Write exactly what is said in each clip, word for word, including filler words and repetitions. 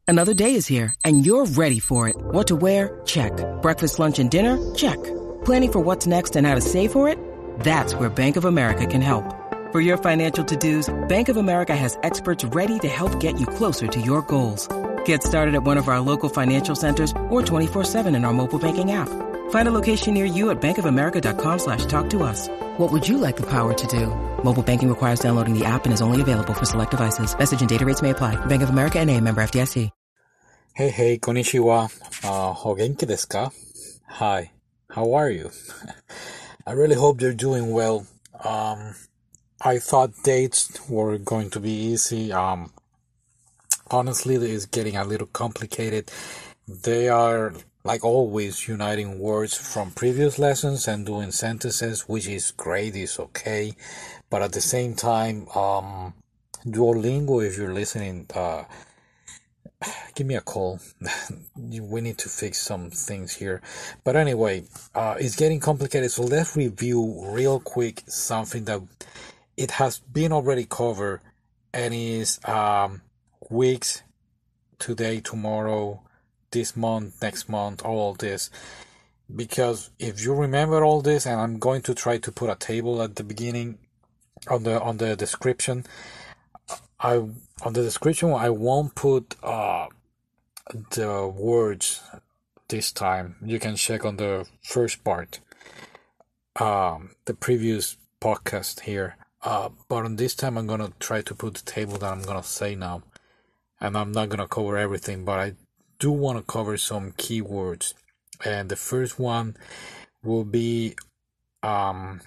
Another day is here, and you're ready for it. What to wear? Check. Breakfast, lunch, and dinner? Check. Planning for what's next and how to save for it? That's where Bank of America can help. For your financial to-dos, Bank of America has experts ready to help get you closer to your goals. Get started at one of our local financial centers or twenty-four seven in our mobile banking app. Find a location near you at bankofamerica.com slash talk to us. What would you like the power to do? Mobile banking requires downloading the app and is only available for select devices. Message and data rates may apply. Bank of America N A, member F D I C. Hey, hey, konnichiwa. Uh, o genki desu ka? Hi, how are you? I really hope you're doing well. Um, I thought dates were going to be easy. Um, honestly, it's getting a little complicated. They are, like always, uniting words from previous lessons and doing sentences, which is great, it's okay. But at the same time, um, Duolingo, if you're listening, uh, give me a call. We need to fix some things here. But anyway, uh, it's getting complicated. So let's review real quick something that it has been already covered and is um, weeks, today, tomorrow, this month, next month, all of this. Because if you remember all this, and I'm going to try to put a table at the beginning on the on the description. I on the description I won't put uh the words this time. You can check on the first part, um, the previous podcast here. Uh, but on this time I'm gonna try to put the table that I'm gonna say now, and I'm not gonna cover everything, but I do want to cover some keywords. And the first one will be um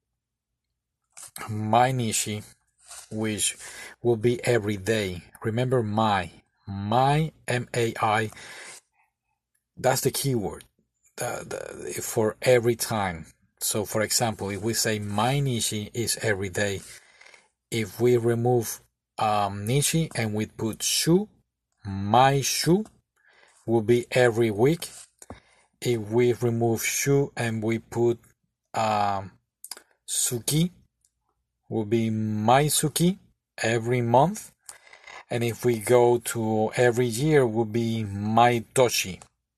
mainishi, which will be every day. Remember my, my, M A I, that's the keyword the, the, for every time. So for example, if we say my nishi is every day, if we remove um, nishi and we put shu, my shu will be every week. If we remove shu and we put um, suki, will be my suki every month. And if we go to every year, will be my toshi,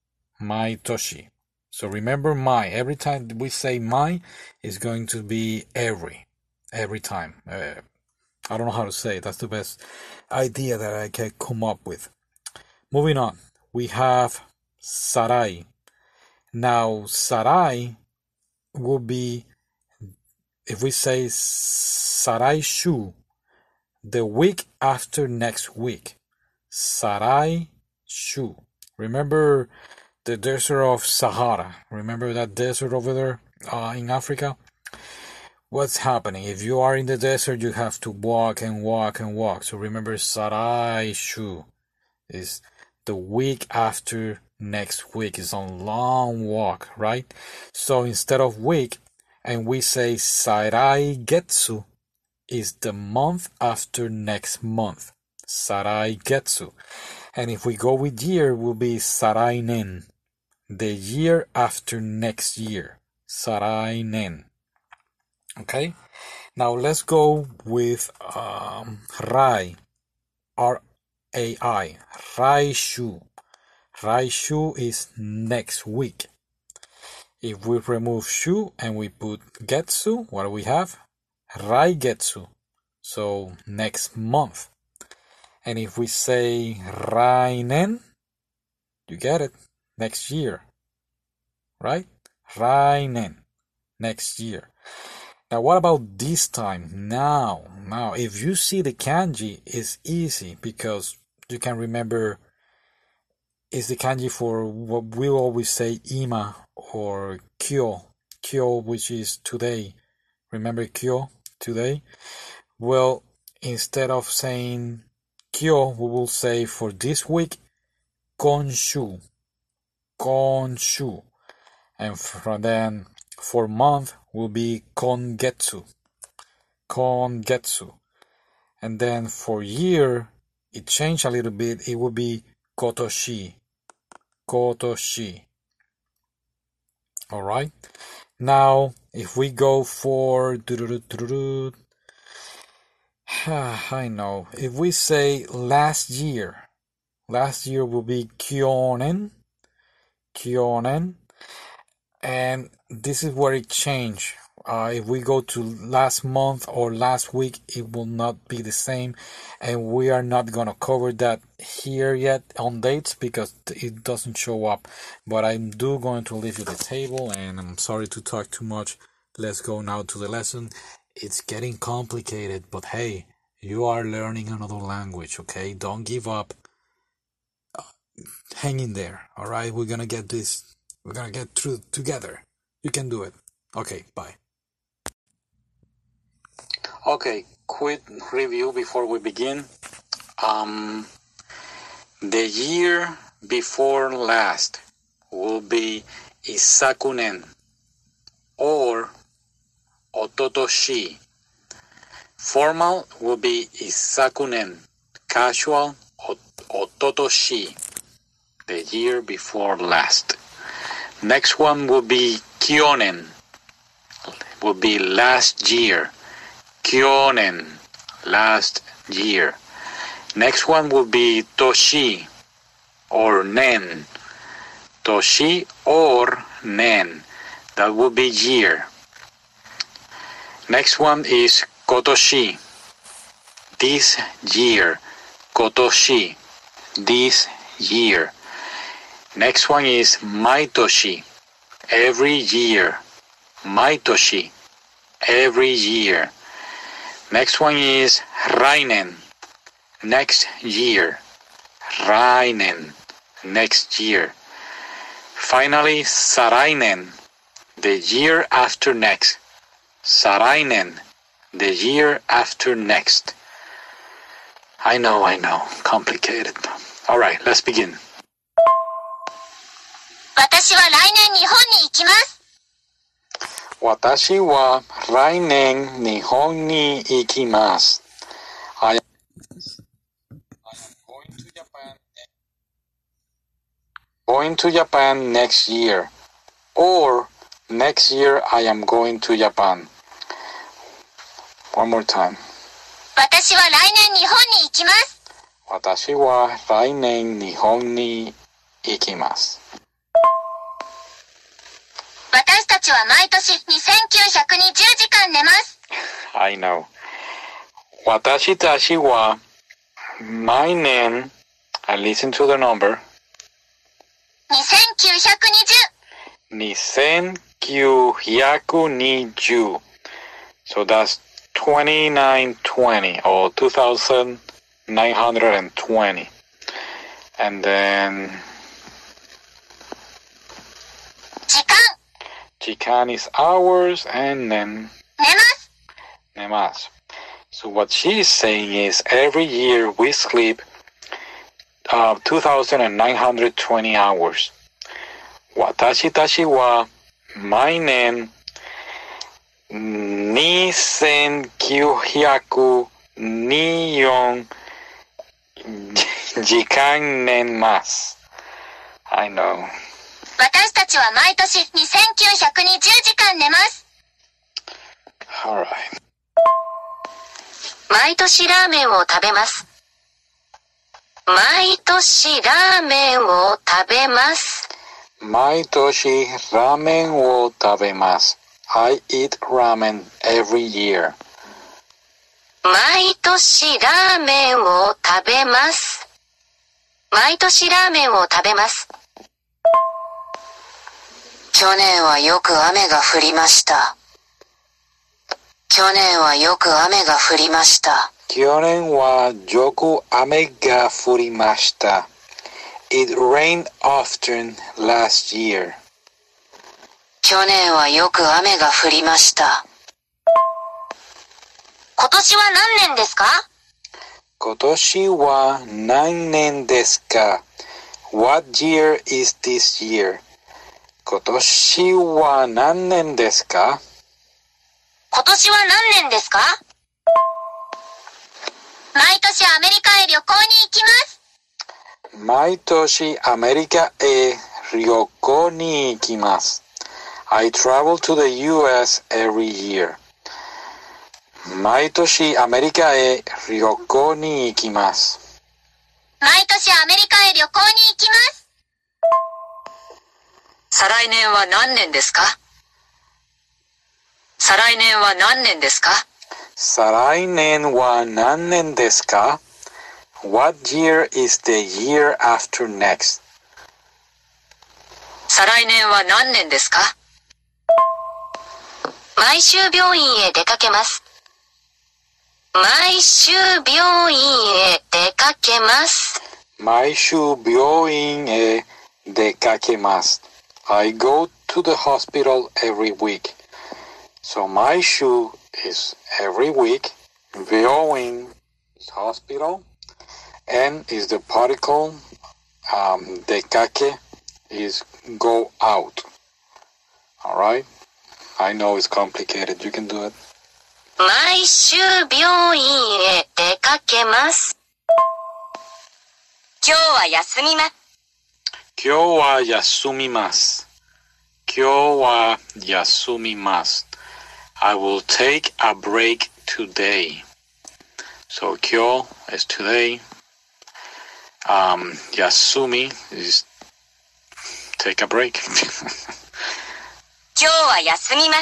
my toshi. So remember my, every time we say my, is going to be every, every time. Uh, I don't know how to say it. That's the best idea that I can come up with. Moving on, we have sarai. Now, sarai will be, if we say sarai shu, the week after next week. Sarai shu. Remember the desert of Sahara? Remember that desert over there uh, in Africa? What's happening? If you are in the desert, you have to walk and walk and walk. So remember, Sarai shu is the week after next week. It's a long walk, right? So instead of week, and we say Sarai getsu, is the month after next month. Sarai getsu. And if we go with year, will be Sarai nen, the year after next year. Sarai nen. Okay? Now let's go with um, Rai. R A I. Raishu. Raishu is next week. If we remove shu and we put getsu, what do we have? Raigetsu, so next month. And if we say rainen, you get it, next year, right? Rainen, next year. Now what about this time? Now, now, if you see the kanji, it's easy because you can remember it's the kanji for what we always say ima or kyo, kyo, which is today. Remember kyo? Today, well, instead of saying kyo, we will say for this week konshu, konshu, and from then for month will be kongetsu, kongetsu, and then for year it changed a little bit. It will be kotoshi, kotoshi. All right. Now, if we go for, I know, if we say last year, Last year will be kyonen. Kyonen. And this is where it changed. Uh, if we go to last month or last week, it will not be the same. And we are not going to cover that here yet on dates because it doesn't show up. But I'm do going to leave you the table, and I'm sorry to talk too much. Let's go now to the lesson. It's getting complicated, but hey, you are learning another language, okay? Don't give up. Uh, hang in there, all right? We're going to get this. We're going to get through together. You can do it. Okay, bye. Okay, quick review before we begin. Um, the year before last will be Isakunen or Ototoshi. Formal will be Isakunen. Casual, Ototoshi. The year before last. Next one will be Kyonen. Will be last year. Kyonen, last year. Next one will be Toshi or Nen. Toshi or Nen. That will be year. Next one is Kotoshi. This year. Kotoshi. This year. Next one is Maitoshi. Every year. Maitoshi. Every year. Next one is Rainen. Next year. Rainen. Next year. Finally, Sarainen. The year after next. Sarainen. The year after next. I know, I know. Complicated. All right, let's begin. 私は来年日本に行きます。 私は来年日本に行きます。I am going to Japan, going to Japan next year. Or next year I am going to Japan. One more time. 私は来年日本に行きます。 私は来年日本に行きます。 私たちは毎年にせんきゅうひゃくにじゅうじかん寝ます。 I know. 私たちは毎年 I listen to the number にせんきゅうひゃくにじゅうにせんきゅうひゃくにじゅう So that's twenty-nine twenty or two thousand nine hundred twenty. And then 時間 Jikan is hours and then 寝ます。 nemas. So what she is saying is every year we sleep uh, two thousand nine hundred twenty hours. Watashi tashi wa mainen ni sen kyu hyaku ni yon jikan nen mas. I know. 私たちは毎年にせんきゅうひゃくにじゅうじかん寝ます。 Alright. 毎年ラーメンを食べます。毎年ラーメンを食べます。 毎年ラーメンを食べます。I eat ramen every year. 毎年ラーメンを食べます。毎年ラーメンを食べます。去年はよく雨が降りました。去年はよく雨が降りました。 去年はよく雨が降りました。It rained often last year. 去年はよく雨が降りました。今年は何年ですか？ 今年は何年ですか？ What year is this year? 今年は何年ですか？ 今年は何年ですか？毎年アメリカへ旅行に行きます。 毎年アメリカへ旅行に行きます。I travel to the U S every year. 毎年アメリカへ旅行に行きます。 毎年アメリカへ旅行に行きます。再来年は何年ですか？再来年は何年ですか？ 再来年は何年ですか? What year is the year after next? 再来年は何年ですか？毎週病院へ出かけます。毎週病院へ出かけます。 毎週病院へ出かけます。I go to the hospital every week. So 毎週 is every week. 病院 is hospital. And is the particle. Um, 出かけ is go out. Alright? I know it's complicated. You can do it. 毎週病院へ出かけます。今日は休みます。 今日は休みます。今日は休みます。I will take a break today. So 今日 is today. Um, 休み is take a break. 今日は休みます。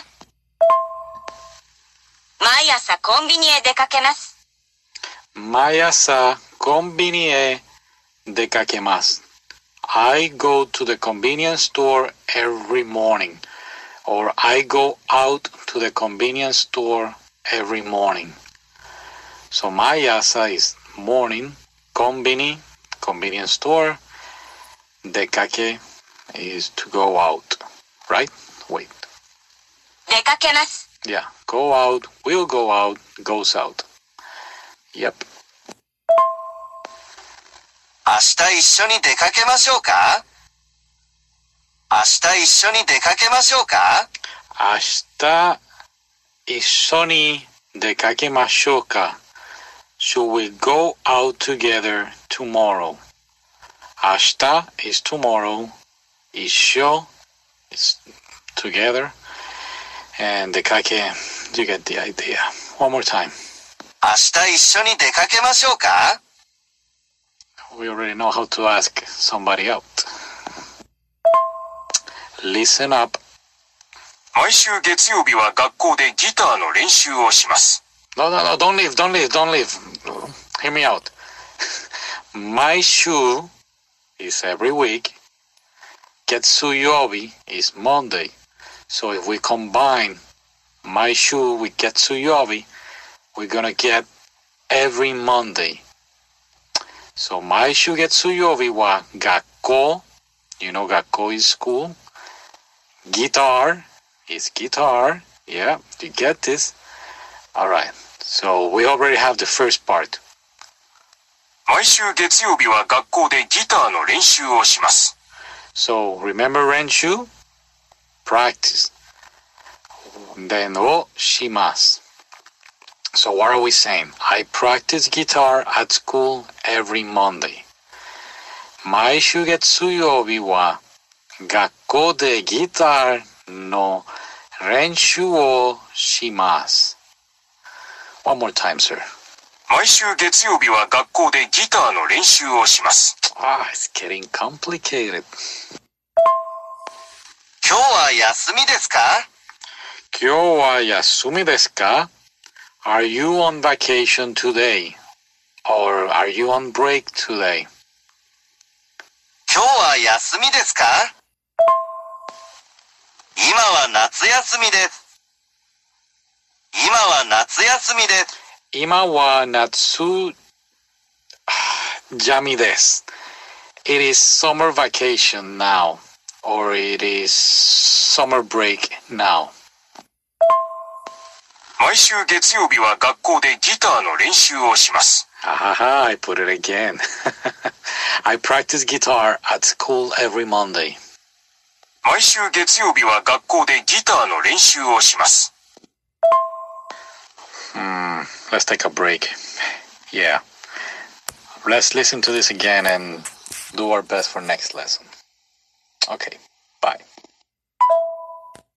毎朝コンビニへ出かけます。 毎朝コンビニへ出かけます。I go to the convenience store every morning. Or I go out to the convenience store every morning. So 毎朝 is morning. コンビニ convenience store. 出かけ is to go out. Right? Wait. 出かけます。 Yeah. Go out, will go out, goes out. Yep. 明日一緒に出かけましょうか？明日一緒に出かけましょうか？ 明日一緒に出かけましょうか? Should we go out together tomorrow? 明日 is tomorrow. 一緒 is together. And 出かけ you get the idea. One more time. 明日一緒に出かけましょうか？ We already know how to ask somebody out. Listen up. 毎週月曜日は学校でギターの練習をします。 No, no, no, don't leave, don't leave, don't leave. Hear me out. 毎週 is every week. 月曜日 is Monday. So if we combine 毎週 with 月曜日, we're gonna get every Monday. So 毎週月曜日は学校 You know 学校 is school. Guitar is guitar. Yeah, you get this. Alright, so we already have the first part. 毎週月曜日は学校でギターの練習をします。 So remember 練習? Practice. Then をします. So what are we saying? I practice guitar at school every Monday. 毎週月曜日は学校でギターの練習をします。One more time, sir. 毎週月曜日は学校でギターの練習をします。 Ah, it's getting complicated. 今日は休みですか？ 今日は休みですか? Are you on vacation today? Or are you on break today? 今日は休みですか？今は夏休みです。今は夏休みです。 今は夏休みです。It is summer vacation now. Or it is summer break now. 毎週月曜日は学校でギターの練習をします。 Haha, I put it again. I practice guitar at school every Monday. 毎週月曜日は学校でギターの練習をします。 Hmm, let's take a break. Yeah. Let's listen to this again and do our best for next lesson. Okay.